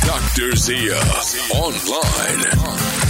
Dr. Zia Online.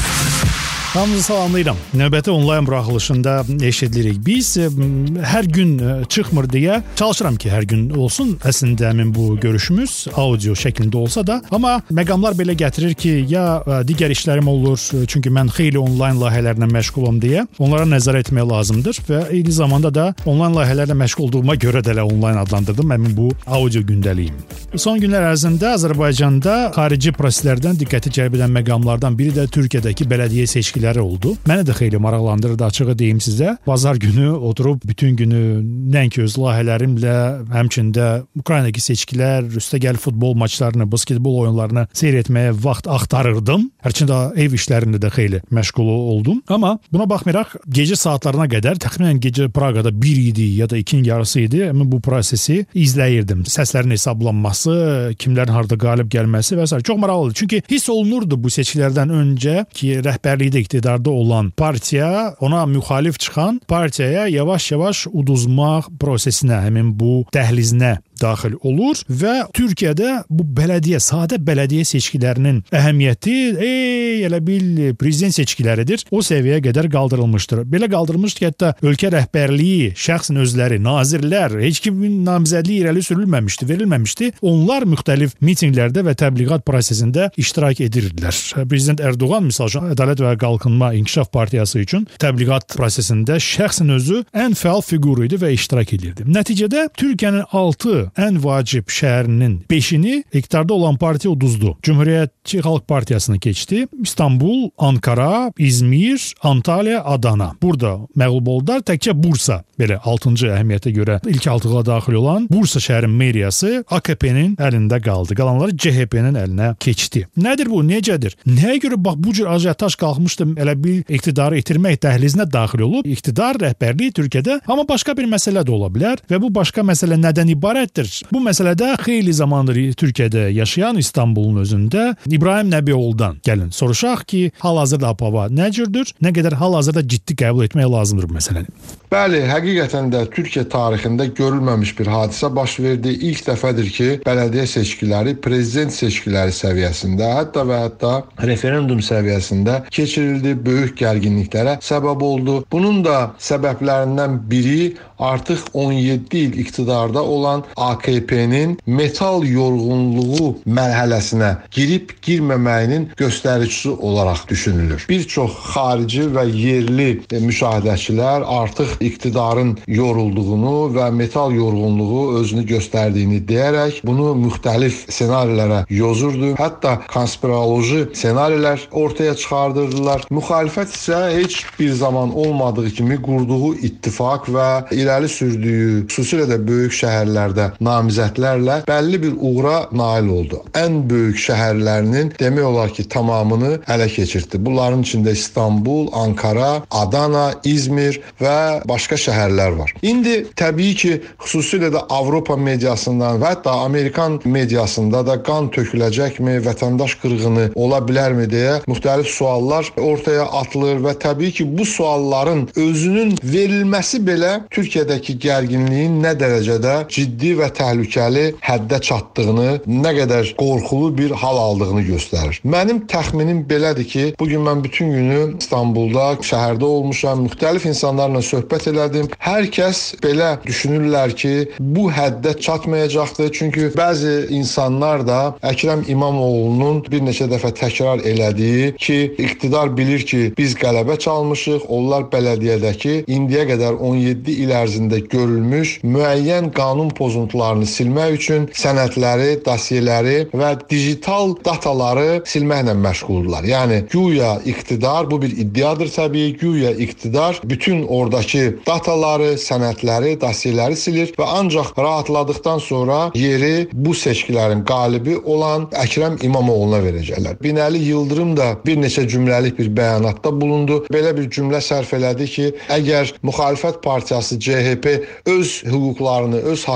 Hamınızı salamlayıram. Növbəti onlayn buraxılışında eşidirik. Biz hər gün çıxmır deyə çalışıram ki, hər gün olsun. Əslində həmin bu görüşümüz audio şəklində olsa da, amma məqamlar belə gətirir ki, ya digər işlərim olur, çünki mən xeyli onlayn layihələrlə məşğulam deyə onlara nəzər etmək lazımdır və eyni zamanda da onlayn layihələrlə məşğul olduğuma görə də onlayn adlandırdım həmin bu audio gündəliyim. Son günlər ərzində Azərbaycanda xarici proseslərdən diqqəti cəlb edən məqamlardan biri də Türkiyədəki bələdiyyə seçkiləri oldu. Məni də xeyli maraqlandırdı, açığı deyim sizə. Bazar günü oturub bütün günü nəinki öz layihələrimlə, həmçində Ukraynadakı seçkilər, üstəgəl futbol maçlarını, basketbol oyunlarını seyr etməyə vaxt axtarırdım. Hərçində ev işlərində də xeyli məşğul oldum. Amma buna baxmayaraq gecə saatlarına qədər, təxminən gecə Praqada 1 idi ya da 2-nin yarısı idi. Mən bu prosesi izləyirdim. Səslərin hesablanması, kimlərin harda qalib gəlməsi və s. Çox maraqlıdır. Çünki hiss olunurdu bu seçkilərdən öncə ki, rəhbərlikdə iqtidarda olan partiya ona müxalif çıxan partiyaya yavaş-yavaş uduzmaq prosesinə, həmin bu dəhlizinə daxil olur və Türkiyədə bu bələdiyyə, sadə bələdiyyə seçkilərinin əhəmiyyəti elə bil prezident seçkiləridir. O səviyyəyə qədər qaldırılmışdır. Belə qaldırılmışdır ki, hətta ölkə rəhbərliyi, şəxsin özləri, nazirlər, heç kimin namizədliyi irəli sürülməmişdi, verilməmişdi. Onlar müxtəlif mitinqlərdə və təbliğat prosesində iştirak edirdilər. Prezident Erdoğan misal üçün Ədalət və Qalkınma İnkişaf Partiyası üçün təbliğat prosesində şəxsin özü ən fəal fiquru idi və iştirak edirdi. Nəticədə Türkiyənin 6 ən vacib şəhərinin 5-ini iqtidarda olan partiya uduzdu. Cumhuriyyətçi Xalq Partiyasını keçdi. İstanbul, Ankara, İzmir, Antalya, Adana. Burada məğlub oldular. Təkcə Bursa, belə 6-cı əhəmiyyətə görə ilk 6-ğa daxil olan Bursa şəhərin meriyası AKP-nin əlində qaldı. Qalanları CHP-nin əlinə keçdi. Nədir bu? Necədir? Nəyə görə bax bu cür ajitaj qalxmışdı, elə bir iqtidarı itirmək dəhlizinə daxil olub? İqtidar rəhbərliyi Türkiyədə, amma başqa bir məsələ də ola bilər və bu başqa məsələ nədən ibarətdir? Bu məsələdə xeyli zamandır Türkiyədə yaşayan İstanbulun özündə İbrahim Nəbioğlu'dan gəlin soruşaq ki, hal-hazırda hava nə cürdür, nə qədər hal-hazırda ciddi qəbul etmək lazımdır bu məsələni. Bəli, həqiqətən də Türkiyə tarixində görülməmiş bir hadisə baş verdi. İlk dəfədir ki, bələdiyyə seçkiləri prezident seçkiləri səviyyəsində, hətta referendum səviyyəsində keçirildi, böyük gərginliklərə səbəb oldu. Bunun da səbəblərindən biri artıq 17 il iqtidarda olan AKP-nin metal yorğunluğu mərhələsinə girib-girməməyinin göstəricisi olaraq düşünülür. Bir çox xarici və yerli müşahidəçilər artıq iqtidarın yorulduğunu və metal yorğunluğu özünü göstərdiyini deyərək bunu müxtəlif ssenarilərə yozurdu. Hətta konspiroloji ssenarilər ortaya çıxardırdılar. Müxalifət isə heç bir zaman olmadığı kimi qurduğu ittifaq və irəli sürdüyü, xüsusilə də böyük şəhərlərdə namizədlərlə bəlli bir uğura nail oldu. Ən böyük şəhərlərinin demək olar ki, tamamını ələ keçirdi. Bunların içində İstanbul, Ankara, Adana, İzmir və başqa şəhərlər var. İndi təbii ki, xüsusilə də Avropa mediasından və hətta Amerikan mediasında da qan töküləcəkmi, vətəndaş qırğını ola bilərmi deyə müxtəlif suallar ortaya atılır və təbii ki, bu sualların özünün verilməsi belə Türkiyədəki gərginliyin nə dərəcədə ciddi və təhlükəli həddə çatdığını, nə qədər qorxulu bir hal aldığını göstərir. Mənim təxminim belədir ki, bugün mən bütün günü İstanbulda, şəhərdə olmuşam, müxtəlif insanlarla söhbət elədim. Hər kəs belə düşünürlər ki, bu həddə çatmayacaqdır. Çünki bəzi insanlar da Əkrəm İmamoğlu'nun bir neçə dəfə təkrar elədiyi ki, iqtidar bilir ki, biz qələbə çalmışıq, onlar bələdiyyədəki indiyə qədər 17 il ərzində görülmüş müəyyən qanun pozuntularını silmək üçün sənədləri, dosyeləri və digital dataları silməklə məşğuldurlar. Yəni, güya iqtidar, bu bir iddiadır təbii, güya iqtidar bütün oradakı dataları, sənədləri, dosyeləri silir və ancaq rahatladıqdan sonra yeri bu seçkilərin qalibi olan Əkrəm İmamoğlu'na verəcəklər. Binəli Yıldırım da bir neçə cümləlik bir bəyanatda bulundu. Belə bir cümlə sərf elədi ki, əgər müxalifət partiyası CHP öz hüquqlarını, öz haqlarını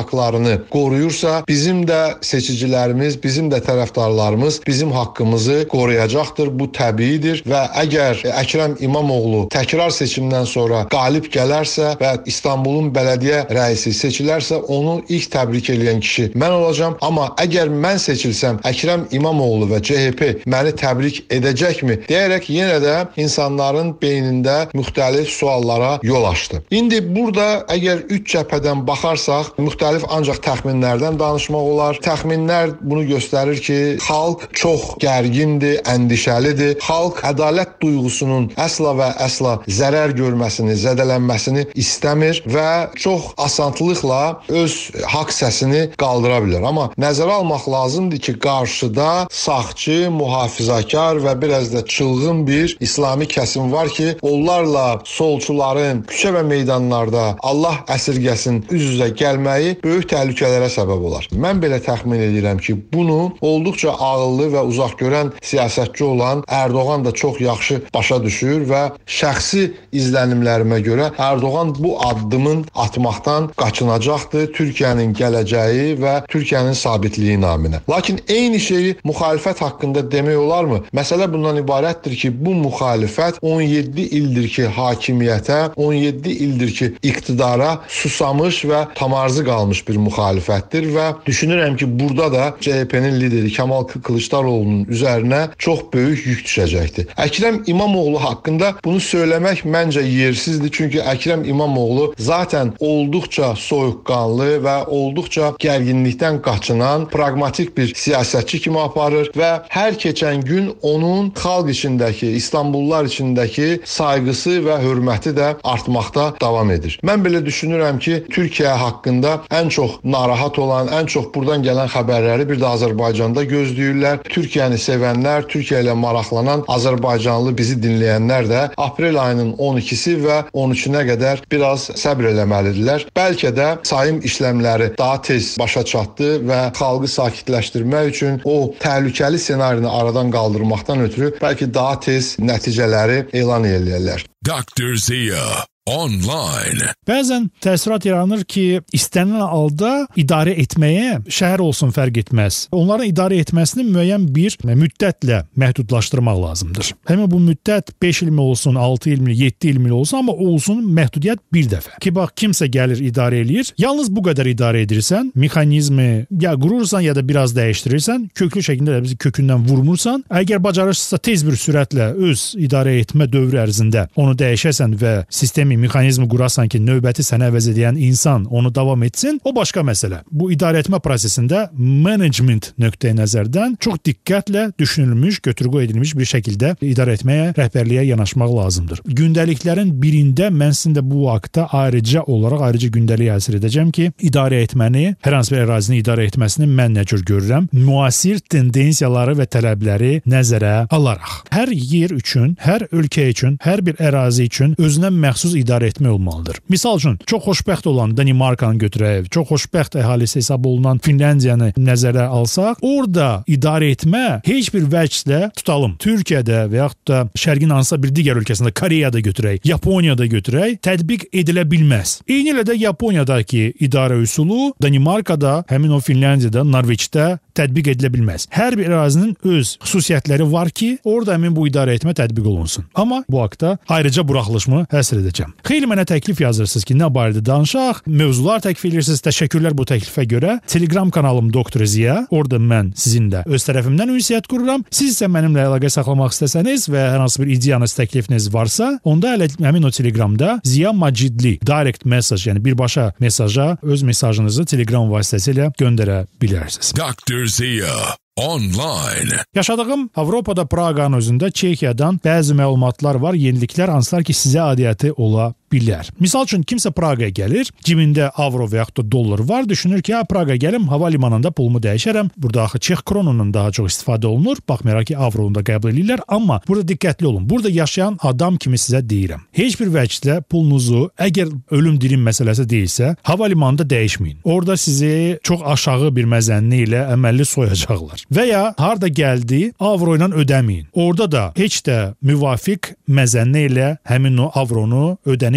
hüquqlarını qoruyursa, bizim də seçicilərimiz, bizim də tərəfdarlarımız bizim haqqımızı qoruyacaqdır. Bu təbiidir və əgər Əkrəm İmamoğlu təkrar seçimdən sonra qalib gələrsə və İstanbulun bələdiyyə rəisi seçilərsə, onu ilk təbrik edən kişi mən olacağam. Amma əgər mən seçilsəm, Əkrəm İmamoğlu və CHP məni təbrik edəcəkmi deyərək yenə də insanların beynində müxtəlif suallara yol açdı. İndi burada əgər üç cəbhədən baxarsaq, müxtəlif ancaq təxminlərdən danışmaq olar. Təxminlər bunu göstərir ki, xalq çox gərgindir, əndişəlidir. Xalq ədalət duyğusunun əsla və əsla zərər görməsini, zədələnməsini istəmir və çox asanlıqla öz haqq səsini qaldıra bilər. Amma nəzərə almaq lazımdır ki, qarşıda sağçı, mühafizakar və biraz da çılğın bir İslami kəsim var ki, onlarla solçuların küçə və meydanlarda Allah əsirgəsin üz-üzə gəlməyi böyük təhlükələrə səbəb olar. Mən belə təxmin edirəm ki, bunu olduqca ağıllı və uzaqgörən siyasətçi olan Erdoğan da çox yaxşı başa düşür və şəxsi izlənimlərimə görə Erdoğan bu addımın atmaqdan qaçınacaqdır Türkiyənin gələcəyi və Türkiyənin sabitliyi naminə. Lakin eyni şeyi müxalifət haqqında demək olarmı? Məsələ bundan ibarətdir ki, bu müxalifət 17 ildir ki hakimiyyətə, 17 ildir ki iqtidara susamış və tamarzı qalmış bir müxalifətdir və düşünürəm ki, burada da CHP-nin lideri Kemal Kılıçdaroğlu'nun üzərinə çox böyük yük düşəcəkdir. Əkrəm İmamoğlu haqqında bunu söyləmək məncə yersizdir. Çünki Əkrəm İmamoğlu zaten olduqca soyuqqanlı və olduqca gərginlikdən qaçınan pragmatik bir siyasətçi kimi aparır və hər keçən gün onun xalq içindəki, İstanbullular içindəki sayğısı və hörməti də artmaqda davam edir. Mən belə düşünürəm ki, Türkiyə haqqında ən çox narahat olan, ən çox buradan gələn xəbərləri bir də Azərbaycanda gözləyirlər. Türkiyəni sevənlər, Türkiyə ilə maraqlanan Azərbaycanlı bizi dinləyənlər də aprel ayının 12-si və 13-ünə qədər biraz səbr eləməlidirlər. Bəlkə də sayım işləmləri daha tez başa çatdı və xalqı sakitləşdirmək üçün o təhlükəli ssenarini aradan qaldırmaqdan ötürü bəlkə daha tez nəticələri elan eləyərlər. Dr. Zia online. Bəzən təəssürat yaranır ki, istənilən halda idarə etməyə şəhər olsun fərq etməz. Onların idarə etməsini müəyyən bir müddətlə məhdudlaşdırmaq lazımdır. Həmin bu müddət 5 il mi olsun, 6 il mi, 7 il mi olsun, amma olsun məhdudiyyət bir dəfə. Ki bax, kimsə gəlir idarə eləyir, yalnız bu qədər idarə edirsən, mexanizmi ya qurursan ya da biraz dəyişdirirsən, köklü şəkildə də bizi kökündən vurmursan, əgər bacarırsa tez bir sürətlə öz idarə etmə dövrü ərzində onu dəyişəsən və sistemi mexanizmi qurasan ki, növbəti sənə əvəz edən insan onu davam etsin, o başqa məsələ. Bu idarə etmə prosesində management nöqteyi nəzərdən çox diqqətlə düşünülmüş, götür-qoy edilmiş bir şəkildə idarə etməyə, rəhbərliyə yanaşmaq lazımdır. Gündəliklərin birində mən sizin də bu haqda ayrıca gündəlik həsr edəcəm ki, idarə etməni, hər hansı bir ərazini idarə etməsini mən nə cür görürəm? Müasir tendensiyaları və tələbləri nəzərə alaraq. Hər yer üçün, hər ölkə üçün, hər bir ərazi üçün özünə məxsus idarə etmə olmalıdır. Misal üçün, çox xoşbəxt olan Danimarkanı götürək, çox xoşbəxt əhalisi hesab olunan Finlandiyanı nəzərə alsaq, orada idarə etmə heç bir vəclə tutalım. Türkiyədə və yaxud da Şərqin hansısa bir digər ölkəsində, Koreyada götürək, Yaponiyada götürək, tətbiq edilə bilməz. Eyni ilə də Yaponiyadakı idarə üsulu Danimarkada, həmin o Finlandiyada, Norveçdə tətbiq edilə bilməz. Hər bir ərazinin öz xüsusiyyətləri var ki, orada həmin bu idarə etmə tətbiq olunsun. Amma bu haqda ayrıca buraxılışımı həsr edəcəm. Xeyli mənə təklif yazırsınız ki, nə barədə danışaq, mövzular təklif edirsiniz. Təşəkkürlər bu təklifə görə. Telegram kanalım Dr. Zia. Orada mən sizinlə öz tərəfimdən ünsiyyət qururam. Siz isə mənimlə əlaqə saxlamaq istəsəniz və hər hansı bir ideyanız, təklifiniz varsa, onda həmin o Telegramda Zia Macidli direct message, yəni birbaşa mesaja öz mesajınızı Telegram vasitəsilə göndərə bilərsiniz. Dr. Zia online. Yaşadığım Avropada Praqanın özündə Çekiyadan bəzi məlumatlar var, yeniliklər, hansılar ki, sizə adiyyəti ola bilər. Misal üçün, kimsə Praqaya gəlir, cibində avro və yaxud da dollar var, düşünür ki, Praqa gəlim, hava limanında pulumu dəyişərəm. Burada axı Çex kronunun daha çox istifadə olunur, baxmayaraq ki, avronu da qəbul edirlər, amma burada diqqətli olun. Burada yaşayan adam kimi sizə deyirəm. Heç bir vəcdə pulunuzu, əgər ölüm dirim məsələsi deyilsə, hava limanında dəyişməyin. Orada sizi çox aşağı bir məzənni ilə əməlli soyacaqlar. Və ya harda gəldi, avro ilə ödəməyin. Orada da heç də müvafiq məzənni ilə həmin o avronu ödəniş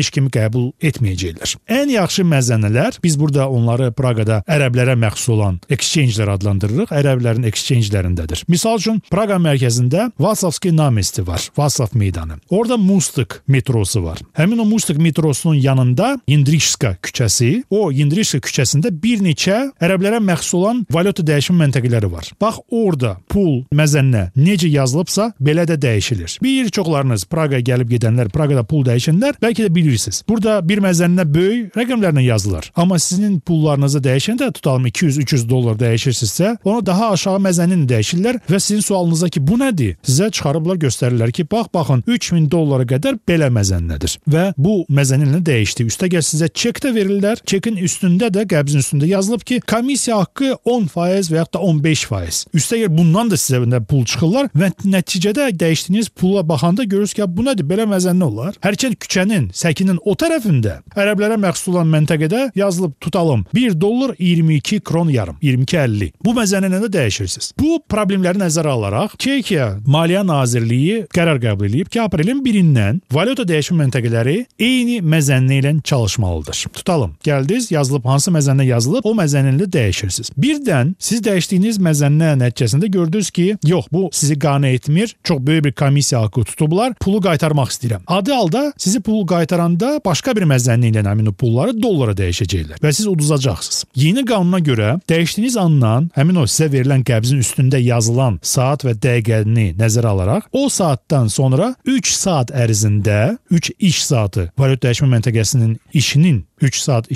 ödəniş kimi qəbul etməyəcəklər. Ən yaxşı məzənələr, biz burada onları Praqada ərəblərə məxsus olan exchange-lər adlandırırıq. Ərəblərin exchange-lərindədir. Misal üçün Praqa mərkəzində Vasovski namesti var. Vaslav meydanı. Orada Mustik metrosu var. Həmin o Mustik metrosunun yanında Yindrişska küçəsi, o Yindrişska küçəsində bir neçə ərəblərə məxsus olan valyuta dəyişim məntəqələri var. Bax orada pul məzənnə necə yazılıbsa belə də dəyişilir. Bir çoxlarınız Praqaya gəlib gedənlər, Praqada pul dəyişənlər bəlkə də bilirsiniz. Burada bir məzənnə böyük rəqəmlərlə yazılır. Amma sizin pullarınızı dəyişəndə tutalım 200-300 dollar dəyişirsinizsə, onu daha aşağı məzənnini dəyişirlər və sizin sualınıza ki, bu nədir? Sizə çıxarıblar göstərirlər ki, baxın 3000 dollara qədər belə məzənnədir. Və bu məzənnini dəyişdi. Üstəgəl sizə çek də verirlər. Çekin üstündə də, qəbzin üstündə yazılıb ki, komissiya haqqı 10% və yaxud da 15%. Üstəgəl bundan da sizə pul çıxırlar və nəticədə dəyişdiyiniz pula baxanda görürsünüz ki, bu nədir? Belə məzənnə olar. Hərçənd küçənin, səkinin o tərəfində ərəblərə məxsus olan məntəqədə yazılıb tutalım 1 dollar 22 kron yarım, 22.50. Bu məzənnəni də dəyişirsiniz. Bu problemləri nəzərə alaraq Çekiya Maliyyə Nazirliyi qərar qəbul edib ki, aprelin 1-dən valyuta dəyişim məntəqələri eyni məzənnə ilə çalışmalıdır. Tutalım, gəldiniz, yazılıb hansı məzənnə yazılıb, o məzənnəni də dəyişirsiniz. Birdən siz dəyişdiyiniz məzənnə nəticəsində gördünüz ki, yox, bu sizi qane etmir, çox böyük bir komissiya haqqı tutublar, pulu qaytarmaq istəyirəm. Adı halda sizi pulu qaytaranda başqa bir məzənnə ilə həmin o pulları dollara dəyişəcəklər və siz uduzacaqsınız. Yeni qanuna görə dəyişdiyiniz andan həmin o sizə verilən qəbzin üstündə yazılan saat və dəqiqəni nəzərə alaraq o saatdan sonra 3 saat ərzində 3 iş saatı valyuta dəyişmə məntəqəsinin işinin 3 saat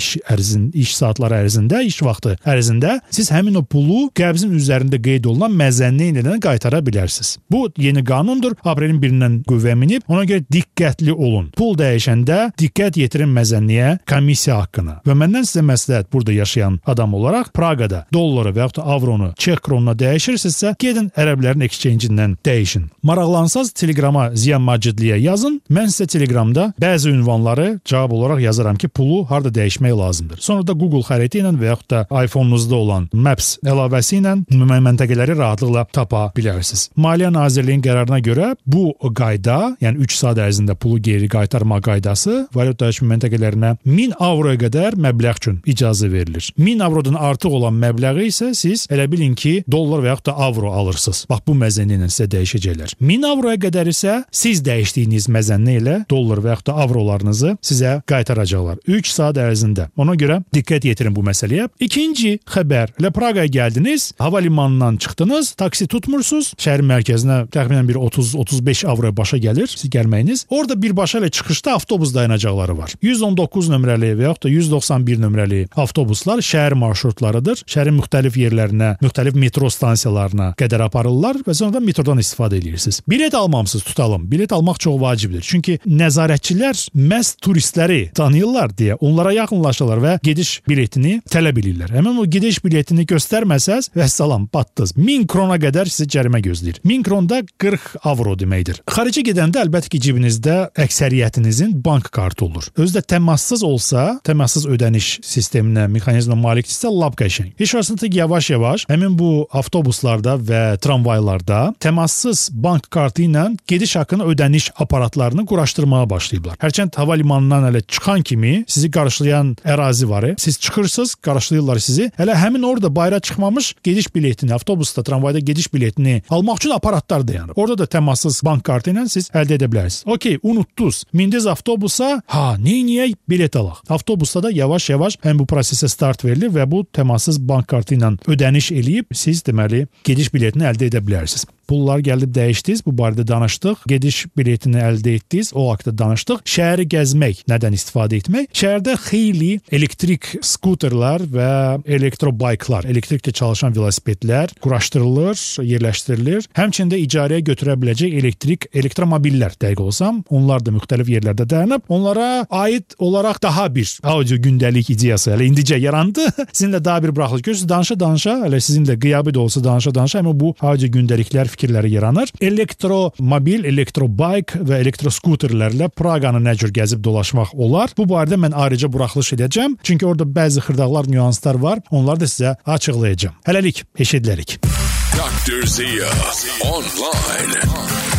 iş saatları ərzində, iş vaxtı ərzində siz həmin o pulu qəbzin üzərində qeyd olunan məzənnə ilə qaytara bilərsiniz. Bu yeni qanundur. Aprelin 1-dən qüvvəyə minib. Ona görə diqqətli olun. Pul dəyişəndə diqqət yetirin məzənniyə, komissiya haqqına. Və məndən sizə məsləhət burada yaşayan adam olaraq Praqada dolları və yaxud da avronu çek kronuna dəyişirsinizsə, gedin ərəblərin exchange-indən dəyişin. Maraqlansanız Telegrama Ziya Macidliyə yazın. Mən sizə Telegramda bəzi ünvanları cavab olaraq yazaram ki, pulu harda dəyişmək lazımdır. Sonra da Google xəritə ilə və yaxud da iPhone-unuzda olan Maps əlavəsi ilə məntəqələri rahatlıqla tapa bilərsiniz. Maliyyə Nazirliyinin qərarına görə bu qayda, yəni 3 saat ərzində pulu geri qaytarma qaydası valyuta dəyişmə məntəqələrinə 1000 avroya qədər məbləğ üçün icazə verilir. 1000 avrodan artıq olan məbləği isə siz elə bilin ki, dollar və yaxud da avro alırsınız. Bax bu məzənnə ilə sizə dəyişəcəklər. 1000 avroya qədər isə siz dəyişdiyiniz məzənnə ilə dollar və yaxud da avrolarınızı sizə qaytaracaqlar. 3 saat ərzində. Ona görə diqqət yetirin bu məsələyə. İkinci xəbər. Praqaya gəldiniz, hava limanından çıxdınız, taksi tutmursunuz. Şəhərin mərkəzinə təxminən bir 30-35 avroya başa gəlir siz gəlməyiniz. Orada birbaşa ilə çıxışda avtobus dayanacaqları var. 119 nömrəli və yaxud da 191 nömrəli avtobuslar şəhər marşrutlarıdır. Şəhərin müxtəlif yerlərinə, müxtəlif metro stansiyalarına qədər aparırlar və sonra da metrodan istifadə edirsiniz. Bilet almamısınız, tutalım. Bilet almaq çox vacibdir. Çünki nəzarətçilər məhz turistləri tanıyırlar deyə onlara yaxınlaşırlar və gediş biletini tələb edirlər. Həmin o gediş biletini göstərməsəz, vəssalam, batdınız. 1000 krona qədər sizi cərimə gözləyir. 1000 kron da 40 avro deməkdir. Xaricə gedəndə əlbəttə ki, cibinizdə əksəriyyətinizin bank kartı olur. Özü də təmassız olsa, təmassız ödəniş sisteminə, mexanizmə malikdirsə, lap qəşəng. Heç vaxtında yavaş-yavaş həmin bu avtobuslarda və tramvaylarda təmassız bank kartı ilə gediş haqqında ödəniş aparatlarını quraşdırmağa başlayıblar. Hərçənd hava limanından hələ çıxan kimi sizi qarşılayan ərazi var. Siz çıxırsınız, qarşılayırlar sizi. Hələ həmin orada bayıra çıxmamış gediş biletini, avtobusda, tramvayda gediş biletini almaq üçün aparatlar dayanır. Orada da təmassız bank kartı ilə siz əldə edə bilərsiniz. Okey, unutdunuz. Mindiniz avtobusa, neyniyək? Bilet alaq. Avtobusda da yavaş-yavaş həm bu prosesə start verilir və bu təmassız bank kartı ilə ödəniş eləyib siz deməli gediş biletini əldə edə bilərsiniz. Pullar gəlib dəyişdiniz, bu barədə danışdıq. Gediş biletini əldə etdiniz, o haqda danışdıq. Şəhəri gəzmək, nədən istifadə etmək? Şəhərdə xeyli elektrik skuterlər və elektrobayklar, elektriklə çalışan velosipedlər quraşdırılır, yerləşdirilir. Həmçində icarəyə götürə biləcək elektromobillər, dəqiq olsam, onlar da müxtəlif yerlərdə dayanıb. Onlara aid olaraq daha bir audio gündəlik ideyası hələ indicə yarandı. Sizinlə daha bir buraxılış görürsünüz. Danışa-danışa, hələ sizinlə qiyabı da olsa danışa-danışa, amma bu audio gündəliklər fikirləri yaranır. Elektromobil, elektrobayk və elektroskuterlərlə Praqanı nə cür gəzib dolaşmaq olar? Bu barədə mən ayrıca buraxılış edəcəm. Çünki orada bəzi xırdaqlar, nüanslar var. Onları da sizə açıqlayacağım. Hələlik, eşidilərik. Dr. Zia Online.